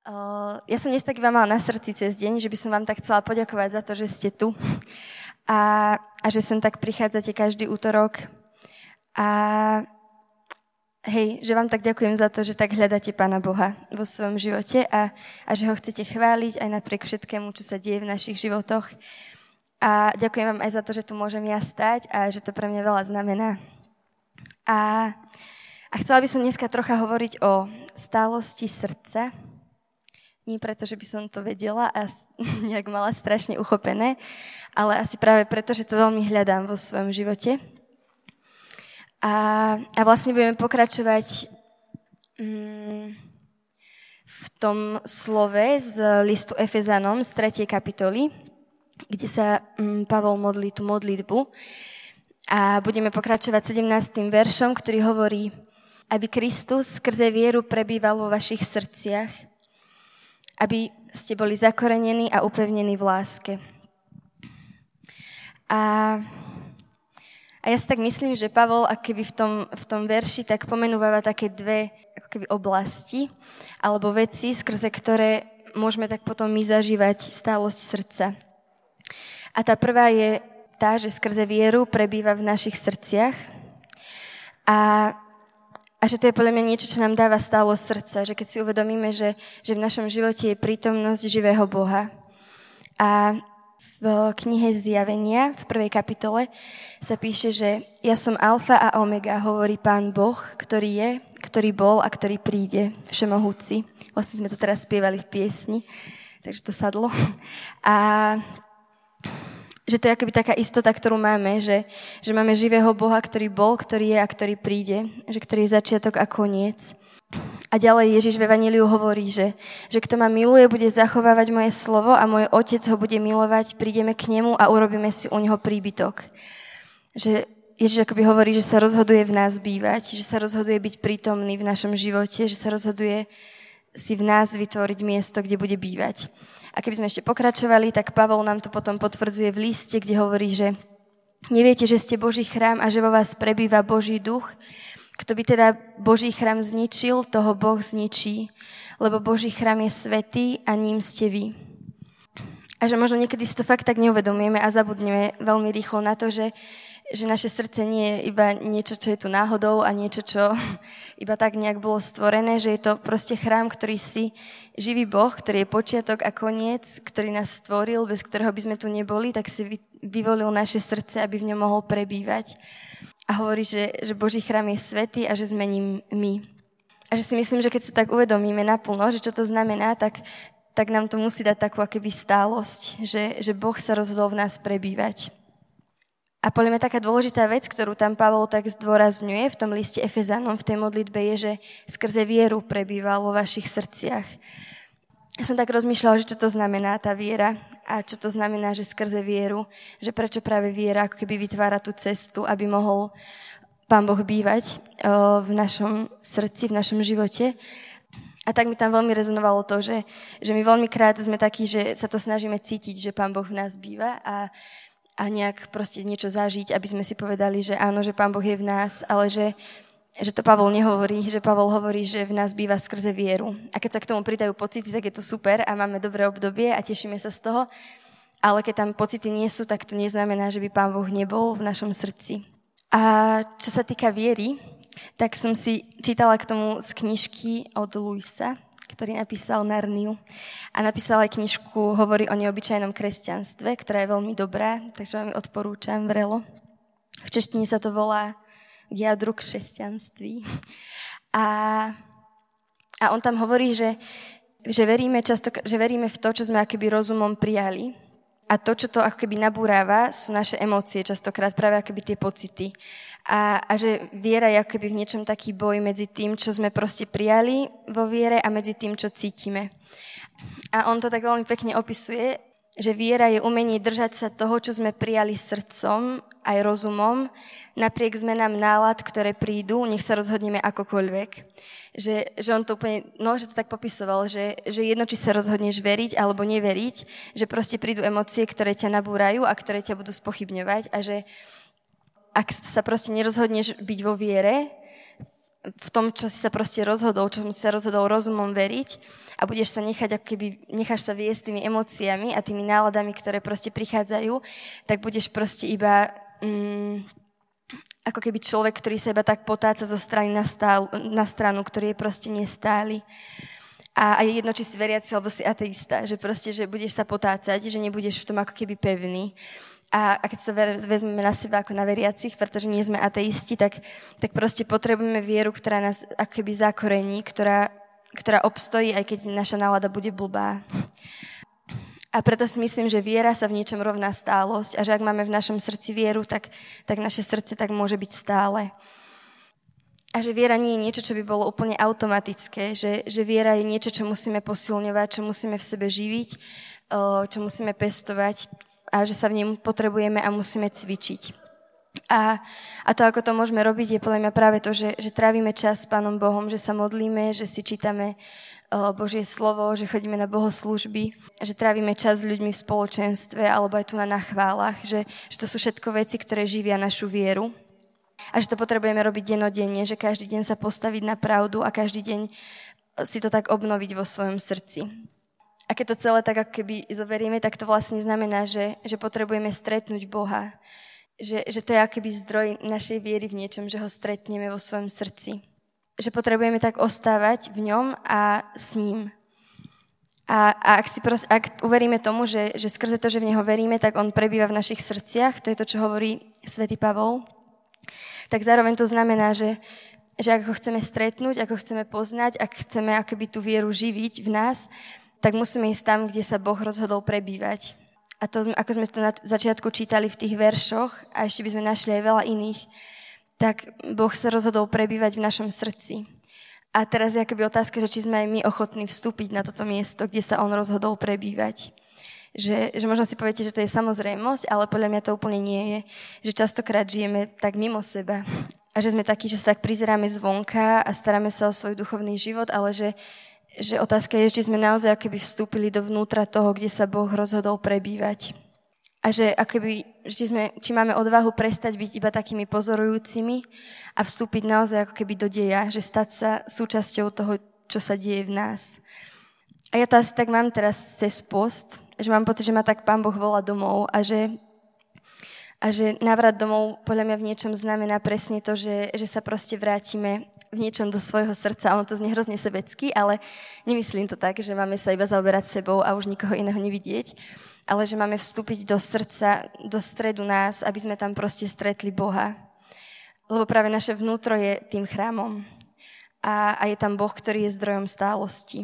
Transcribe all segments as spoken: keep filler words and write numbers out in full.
Ja som dnes tak iba mala na srdci cez deň, že by som vám tak chcela poďakovať za to, že ste tu a, a že sem tak prichádzate každý útorok a hej, že vám tak ďakujem za to, že tak hľadáte Pána Boha vo svojom živote a, a že ho chcete chváliť aj napriek všetkému, čo sa deje v našich životoch. A ďakujem vám aj za to, že tu môžem ja stať a že to pre mňa veľa znamená. A, a chcela by som dneska trocha hovoriť o stálosti srdca. Nie preto, že by som to vedela a nejak mala strašne uchopené, ale asi práve preto, že to veľmi hľadám vo svojom živote. A, a vlastne budeme pokračovať mm, v tom slove z listu Efezanom z tretej kapitoly, kde sa mm, Pavol modlí tú modlitbu. A budeme pokračovať sedemnástym veršom, ktorý hovorí, aby Kristus skrze vieru prebýval vo vašich srdciach, aby ste boli zakorenení a upevnení v láske. A, a ja si tak myslím, že Pavol, akoby v tom, v tom verši, tak pomenúva také dve ako keby oblasti, alebo veci, skrze ktoré môžeme tak potom my zažívať stálosť srdca. A tá prvá je tá, že skrze vieru prebýva v našich srdciach a A že to je podľa mňa niečo, čo nám dáva stálosť srdca, že keď si uvedomíme, že, že v našom živote je prítomnosť živého Boha. A v knihe Zjavenia, v prvej kapitole, sa píše, že ja som alfa a omega, hovorí Pán Boh, ktorý je, ktorý bol a ktorý príde, všemohúci. Vlastne sme to teraz spievali v piesni, takže to sadlo. A že to je akoby taká istota, ktorú máme, že, že máme živého Boha, ktorý bol, ktorý je a ktorý príde, že ktorý je začiatok a koniec. A ďalej Ježiš v Evanjeliu hovorí, že, že kto ma miluje, bude zachovávať moje slovo a môj Otec ho bude milovať, prídeme k nemu a urobíme si u neho príbytok. Že Ježiš akoby hovorí, že sa rozhoduje v nás bývať, že sa rozhoduje byť prítomný v našom živote, že sa rozhoduje si v nás vytvoriť miesto, kde bude bývať. A keby sme ešte pokračovali, tak Pavol nám to potom potvrdzuje v liste, kde hovorí, že neviete, že ste Boží chrám a že vo vás prebýva Boží duch. Kto by teda Boží chrám zničil, toho Boh zničí, lebo Boží chrám je svätý a ním ste vy. A že možno niekedy si to fakt tak neuvedomujeme a zabudneme veľmi rýchlo na to, že že naše srdce nie je iba niečo, čo je tu náhodou a niečo, čo iba tak nejak bolo stvorené, že je to proste chrám, ktorý si živý Boh, ktorý je počiatok a koniec, ktorý nás stvoril, bez ktorého by sme tu neboli, tak si vyvolil naše srdce, aby v ňom mohol prebývať. A hovorí, že, že Boží chrám je svätý a že sme ním my. A že si myslím, že keď sa tak uvedomíme naplno, že čo to znamená, tak, tak nám to musí dať takú akoby stálosť, že, že Boh sa rozhodol v nás prebývať. A podľa mňa taká dôležitá vec, ktorú tam Pavol tak zdôrazňuje v tom liste Efezanom, v tej modlitbe, je, že skrze vieru prebýval vo vašich srdciach. Ja som tak rozmýšľala, že čo to znamená tá viera a čo to znamená, že skrze vieru, že prečo práve viera ako keby vytvára tú cestu, aby mohol Pán Boh bývať v našom srdci, v našom živote. A tak mi tam veľmi rezonovalo to, že, že my veľmi krát sme takí, že sa to snažíme cítiť, že Pán Boh v nás býva a a nejak proste niečo zažiť, aby sme si povedali, že áno, že Pán Boh je v nás, ale že, že to Pavol nehovorí, že Pavol hovorí, že v nás býva skrze vieru. A keď sa k tomu pridajú pocity, tak je to super a máme dobré obdobie a tešíme sa z toho, ale keď tam pocity nie sú, tak to neznamená, že by Pán Boh nebol v našom srdci. A čo sa týka viery, tak som si čítala k tomu z knižky od Luisa, ktorý napísal Narniu. A napísal aj knižku, hovorí o neobyčajnom kresťanstve, ktorá je veľmi dobrá, takže vám ju odporúčam vrelo. V češtine sa to volá K jadru kresťanství. A, a on tam hovorí, že, že, veríme často, že veríme v to, čo sme akoby rozumom prijali. A to, čo to ako keby nabúráva, sú naše emócie, častokrát práve akoby tie pocity. A, a že viera je ako keby v niečom taký boj medzi tým, čo sme proste prijali vo viere a medzi tým, čo cítime. A on to tak veľmi pekne opisuje, že viera je umenie držať sa toho, čo sme prijali srdcom, aj rozumom, napriek zmenám nálad, ktoré prídu, nech sa rozhodneme akokoľvek. Že, že on to úplne, no, že to tak popisoval, že, že jedno, či sa rozhodneš veriť alebo neveriť, že proste prídu emócie, ktoré ťa nabúrajú a ktoré ťa budú spochybňovať a že ak sa proste nerozhodneš byť vo viere, v tom, čo si sa proste rozhodol, čo si sa rozhodol rozumom veriť a budeš sa nechať, ako keby necháš sa viesť tými emóciami a tými náladami, ktoré proste prichádzajú, tak budeš proste iba mm, ako keby človek, ktorý sa iba tak potáca zo strany na, stál, na stranu, ktorý je proste nestály. A, a je jedno, či si veriaci, alebo si ateista, že proste, že budeš sa potácať, že nebudeš v tom ako keby pevný. A, a keď to vezmeme na seba ako na veriacich, pretože nie sme ateisti, tak, tak proste potrebujeme vieru, ktorá nás ako keby zakorení, ktorá, ktorá obstojí, aj keď naša nálada bude blbá. A preto si myslím, že viera sa v niečom rovná stálosť a že ak máme v našom srdci vieru, tak, tak naše srdce tak môže byť stále. A že viera nie je niečo, čo by bolo úplne automatické, že, že viera je niečo, čo musíme posilňovať, čo musíme v sebe živiť, čo musíme pestovať a že sa v nej potrebujeme a musíme cvičiť. A, a to, ako to môžeme robiť, je podľa mňa práve to, že, že trávime čas s Pánom Bohom, že sa modlíme, že si čítame Božie slovo, že chodíme na bohoslúžby, že trávime čas s ľuďmi v spoločenstve alebo aj tu na nachválach, že, že to sú všetko veci, ktoré živia našu vieru. A že to potrebujeme robiť denodenne, že každý deň sa postaviť na pravdu a každý deň si to tak obnoviť vo svojom srdci. A keď to celé tak ako keby zoberieme, tak to vlastne znamená, že, že potrebujeme stretnúť Boha. Že, že to je ako keby zdroj našej viery v niečom, že ho stretneme vo svojom srdci. Že potrebujeme tak ostávať v ňom a s ním. A, a ak, si pros, ak uveríme tomu, že, že skrze to, že v neho veríme, tak on prebýva v našich srdciach, to je to, čo hovorí svätý Pavol, tak zároveň to znamená, že, že ak ho chceme stretnúť, ak ho chceme poznať, ak chceme akoby tú vieru živiť v nás, tak musíme ísť tam, kde sa Boh rozhodol prebývať. A to, ako sme to na začiatku čítali v tých veršoch, a ešte by sme našli aj veľa iných, tak Boh sa rozhodol prebývať v našom srdci. A teraz je akoby otázka, že či sme aj my ochotní vstúpiť na toto miesto, kde sa on rozhodol prebývať. Že, že možno si poviete, že to je samozrejmosť, ale podľa mňa to úplne nie je. Že častokrát žijeme tak mimo seba. A že sme takí, že sa tak prizeráme zvonka a staráme sa o svoj duchovný život, ale že, že otázka je, či sme naozaj akoby vstúpili dovnútra toho, kde sa Boh rozhodol prebývať. A že akoby, či, sme, či máme odvahu prestať byť iba takými pozorujúcimi a vstúpiť naozaj ako keby do deja, že stať sa súčasťou toho, čo sa deje v nás. A ja to asi tak mám teraz cez post, že mám pocit, že ma tak Pán Boh volá domov a že, a že návrat domov podľa mňa v niečom znamená presne to, že, že sa proste vrátime v niečom do svojho srdca. Ono to znie hrozne sebecky, ale nemyslím to tak, že máme sa iba zaoberať sebou a už nikoho iného nevidieť, ale že máme vstúpiť do srdca, do stredu nás, aby sme tam proste stretli Boha. Lebo práve naše vnútro je tým chrámom a, a je tam Boh, ktorý je zdrojom stálosti.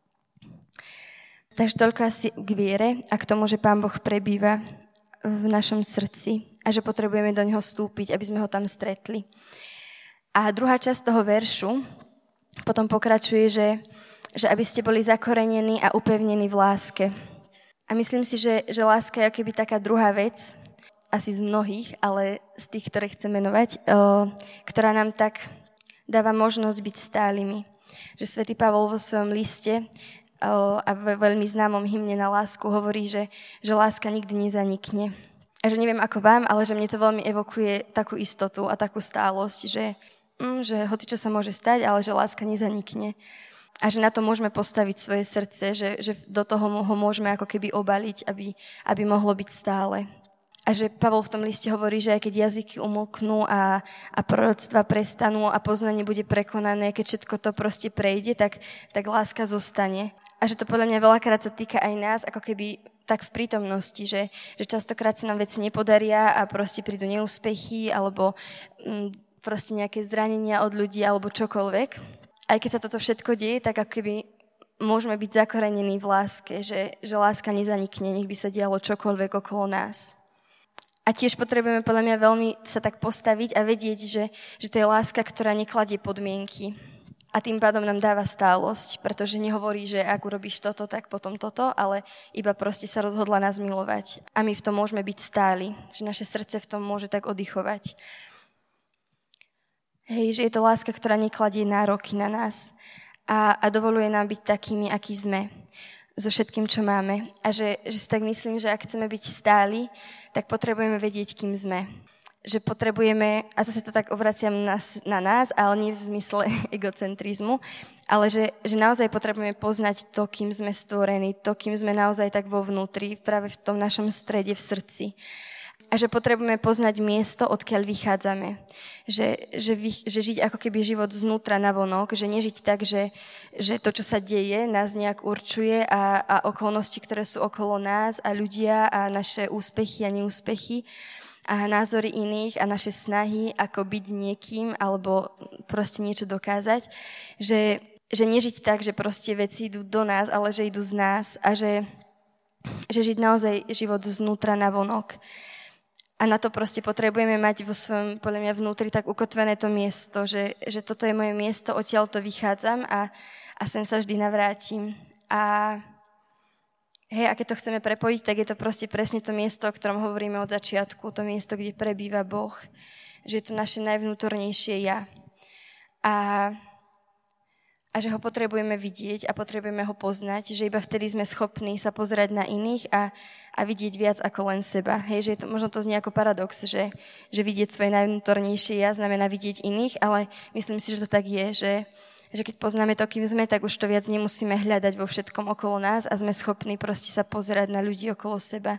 Takže toľko asi k viere a k tomu, že Pán Boh prebýva v našom srdci a že potrebujeme do neho vstúpiť, aby sme ho tam stretli. A druhá časť toho veršu potom pokračuje, že, že aby ste boli zakorenení a upevnení v láske. A myslím si, že, že láska je akoby taká druhá vec, asi z mnohých, ale z tých, ktoré chcem menovať, o, ktorá nám tak dáva možnosť byť stálymi. Že svätý Pavol vo svojom liste a v veľmi známom hymne na lásku hovorí, že, že láska nikdy nezanikne. A že neviem ako vám, ale že mne to veľmi evokuje takú istotu a takú stálosť, že, mm, že hocičo sa môže stať, ale že láska nezanikne. A že na to môžeme postaviť svoje srdce, že, že do toho ho môžeme ako keby obaliť, aby, aby mohlo byť stále. A že Pavol v tom liste hovorí, že aj keď jazyky umlknú a, a proroctva prestanú a poznanie bude prekonané, keď všetko to proste prejde, tak, tak láska zostane. A že to podľa mňa veľakrát sa týka aj nás, ako keby tak v prítomnosti, že, že častokrát sa nám veci nepodaria a proste prídu neúspechy alebo m, proste nejaké zranenia od ľudí alebo čokoľvek. Aj keď sa toto všetko deje, tak ako keby môžeme byť zakorenení v láske, že, že láska nezanikne, nech by sa dialo čokoľvek okolo nás. A tiež potrebujeme podľa mňa veľmi sa tak postaviť a vedieť, že, že to je láska, ktorá nekladie podmienky. A tým pádom nám dáva stálosť, pretože nehovorí, že ak urobíš toto, tak potom toto, ale iba proste sa rozhodla nás milovať. A my v tom môžeme byť stáli, že naše srdce v tom môže tak oddychovať. Hej, že je to láska, ktorá nekladie nároky na nás a, a dovoluje nám byť takými, akí sme, so všetkým, čo máme. A že, že si tak myslím, že ak chceme byť stáli, tak potrebujeme vedieť, kým sme. že potrebujeme, a zase to tak obraciam na, na nás, ale nie v zmysle egocentrizmu, ale že, že naozaj potrebujeme poznať to, kým sme stvorení, to, kým sme naozaj tak vo vnútri, práve v tom našom strede, v srdci. A že potrebujeme poznať miesto, odkiaľ vychádzame. Že, že, vy, že žiť ako keby život znútra na vonok, že nežiť tak, že, že to, čo sa deje, nás nejak určuje a, a okolnosti, ktoré sú okolo nás a ľudia a naše úspechy a neúspechy a názory iných a naše snahy, ako byť niekým alebo proste niečo dokázať. Že, že nežiť tak, že proste veci idú do nás, ale že idú z nás a že, že žiť naozaj život znútra na vonok. A na to proste potrebujeme mať vo svojom, podľa mňa, vnútri tak ukotvené to miesto, že, že toto je moje miesto, odtiaľ to vychádzam a, a sem sa vždy navrátim. A hej, a keď to chceme prepojiť, tak je to proste presne to miesto, o ktorom hovoríme od začiatku, to miesto, kde prebýva Boh. Že je to naše najvnútornejšie ja. A... a že ho potrebujeme vidieť a potrebujeme ho poznať, že iba vtedy sme schopní sa pozerať na iných a, a vidieť viac ako len seba. Hej, že je to, možno to znie ako paradox, že, že vidieť svoje najvnútornejšie ja znamená vidieť iných, ale myslím si, že to tak je, že, že keď poznáme to, kým sme, tak už to viac nemusíme hľadať vo všetkom okolo nás a sme schopní proste sa pozerať na ľudí okolo seba.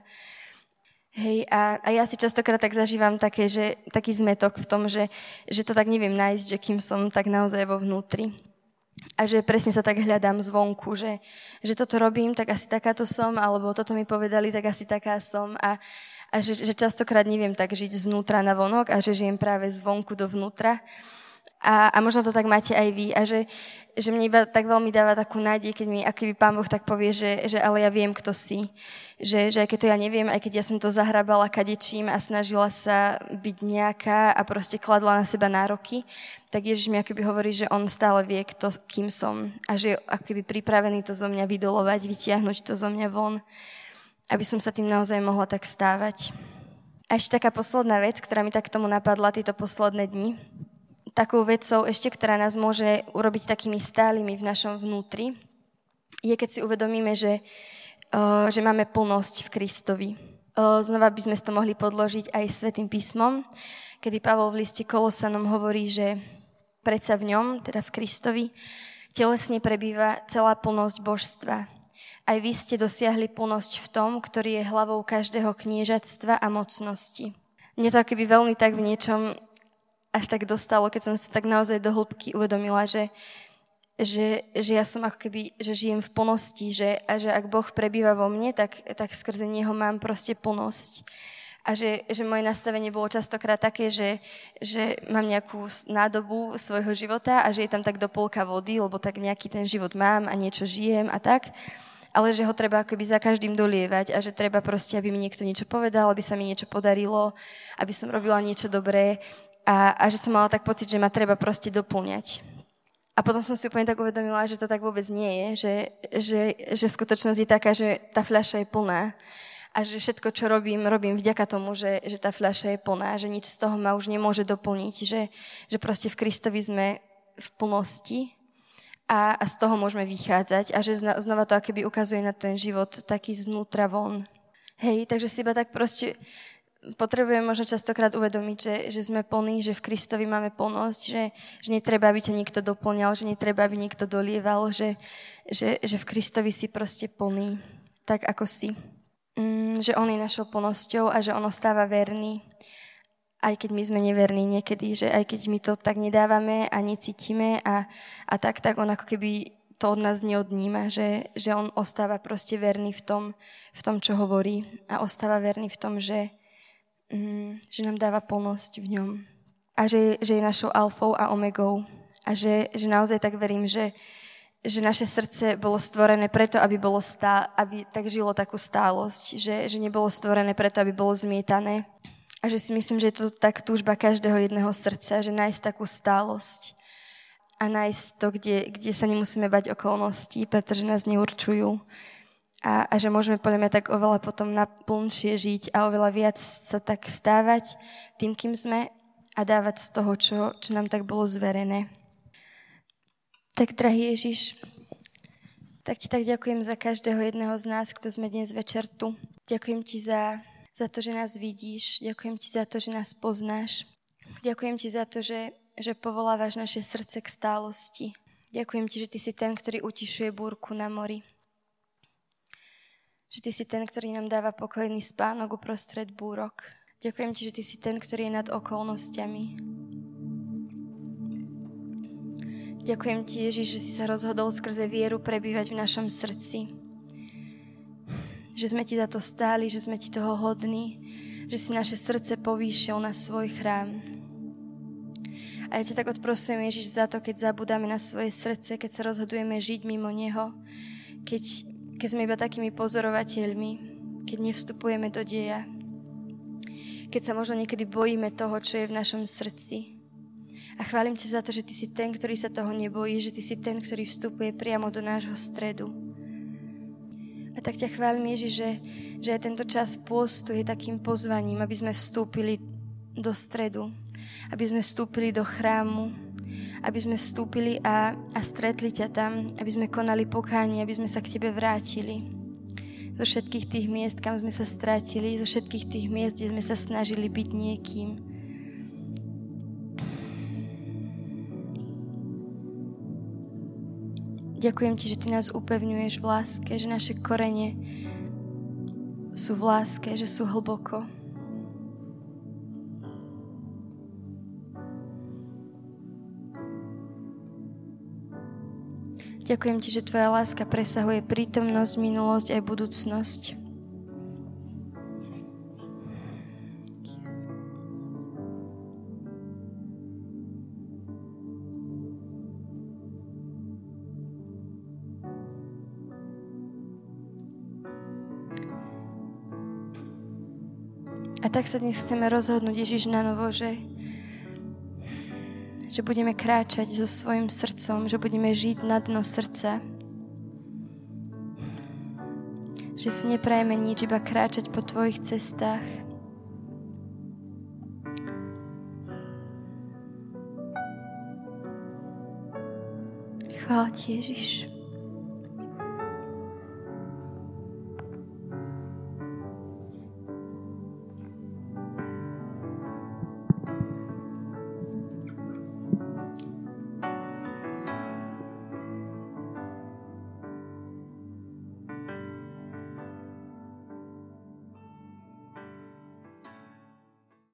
Hej, a, a ja si častokrát tak zažívam také, že, taký zmetok v tom, že, že to tak neviem nájsť, že kým som tak naozaj vo vnútri. A že presne sa tak hľadám zvonku, že, že toto robím, tak asi takáto som, alebo toto mi povedali, tak asi taká som. A, a že, že častokrát neviem tak žiť znútra na vonok a že žijem práve zvonku do vnútra. A, a možno to tak máte aj vy. A že, že mne iba tak veľmi dáva takú nádej, keď mi aký Pán Boh tak povie, že, že ale ja viem, kto si. Že, že aj keď to ja neviem, aj keď ja som to zahrabala kadečím a snažila sa byť nejaká a proste kladla na seba nároky, tak Ježiš mi akoby hovorí, že on stále vie, kto, kým som a že je akoby pripravený to zo mňa vydolovať, vytiahnuť to zo mňa von, aby som sa tým naozaj mohla tak stávať. A ešte taká posledná vec, ktorá mi tak k tomu napadla tieto posledné dni. Takou vecou ešte, ktorá nás môže urobiť takými stálymi v našom vnútri, je, keď si uvedomíme, že Uh, že máme plnosť v Kristovi. Uh, znova by sme to mohli podložiť aj Svätým písmom, kedy Pavol v liste Kolosanom hovorí, že predsa v ňom, teda v Kristovi, telesne prebýva celá plnosť božstva. Aj vy ste dosiahli plnosť v tom, ktorý je hlavou každého kniežatstva a mocnosti. Mne to akoby veľmi tak v niečom až tak dostalo, keď som sa tak naozaj do hĺbky uvedomila, že Že, že ja som ako keby, že žijem v plnosti, že, a že ak Boh prebýva vo mne, tak, tak skrze Neho mám proste plnosť. A že, že moje nastavenie bolo častokrát také, že, že mám nejakú nádobu svojho života a že je tam tak do polka vody, lebo tak nejaký ten život mám a niečo žijem a tak. Ale že ho treba akoby za každým dolievať a že treba proste, aby mi niekto niečo povedal, aby sa mi niečo podarilo, aby som robila niečo dobré a, a že som mala tak pocit, že ma treba proste doplňať. A potom som si úplne tak uvedomila, že to tak vôbec nie je, že, že, že skutočnosť je taká, že tá fľaša je plná a že všetko, čo robím, robím vďaka tomu, že, že tá fľaša je plná, že nič z toho ma už nemôže doplniť, že, že proste v Kristovi sme v plnosti a, a z toho môžeme vychádzať a že zna, znova to akoby ukazuje na ten život taký znútra von. Hej, takže si iba tak proste potrebujeme možno častokrát uvedomiť, že, že sme plní, že v Kristovi máme plnosť, že, že netreba, aby ťa niekto doplňal, že netreba, aby niekto dolieval, že, že, že v Kristovi si proste plný, tak ako si. Mm, že on je našou plnosťou a že on ostáva verný, aj keď my sme neverní niekedy, že aj keď my to tak nedávame a necítime a, a tak, tak on ako keby to od nás neodníma, že, že on ostáva proste verný v tom, v tom, čo hovorí a ostáva verný v tom, že Mm, že nám dáva plnosť v ňom a že, že je našou alfou a omegou a že, že naozaj tak verím, že, že naše srdce bolo stvorené preto, aby, bolo stá, aby tak žilo takú stálosť, že, že nebolo stvorené preto, aby bolo zmietané a že si myslím, že je to tak túžba každého jedného srdca, že nájsť takú stálosť a nájsť to, kde, kde sa nemusíme bať okolností, pretože nás neurčujú. A, a že môžeme podľa mňa tak oveľa potom naplnšie žiť a oveľa viac sa tak stávať tým, kým sme a dávať z toho, čo, čo nám tak bolo zverené. Tak, drahý Ježiš, tak ti tak ďakujem za každého jedného z nás, kto sme dnes večer tu. Ďakujem ti za, za to, že nás vidíš. Ďakujem ti za to, že nás poznáš. Ďakujem ti za to, že, že povolávaš naše srdce k stálosti. Ďakujem ti, že ty si ten, ktorý utišuje búrku na mori. Že ty si ten, ktorý nám dáva pokojný spánok uprostred búrok. Ďakujem ti, že ty si ten, ktorý je nad okolnostiami. Ďakujem ti, Ježiš, že si sa rozhodol skrze vieru prebývať v našom srdci. Že sme ti za to stáli, že sme ti toho hodní, že si naše srdce povýšil na svoj chrám. A ja ťa tak odprosujem, Ježiš, za to, keď zabudáme na svoje srdce, keď sa rozhodujeme žiť mimo neho, keď, keď sme iba takými pozorovateľmi, keď nevstupujeme do deja, keď sa možno niekedy bojíme toho, čo je v našom srdci. A chválim ťa za to, že ty si ten, ktorý sa toho nebojí, že ty si ten, ktorý vstupuje priamo do nášho stredu. A tak ťa chválim, Ježiš, že, že aj tento čas pôstu je takým pozvaním, aby sme vstúpili do stredu, aby sme vstúpili do chrámu, aby sme vstúpili a, a stretli ťa tam, aby sme konali pokánie, aby sme sa k tebe vrátili. Zo všetkých tých miest, kam sme sa strátili, zo všetkých tých miest, kde sme sa snažili byť niekým. Ďakujem ti, že ty nás upevňuješ v láske, že naše korene sú v láske, že sú hlboko. Ďakujem ti, že tvoja láska presahuje prítomnosť, minulosť aj budúcnosť. A tak sa dnes chceme rozhodnúť, Ježiš, na novo, že, že budeme kráčať so svojím srdcom, že budeme žiť na dno srdca. Že si neprajeme nič, iba kráčať po tvojich cestách. Chvála ti, Ježiš.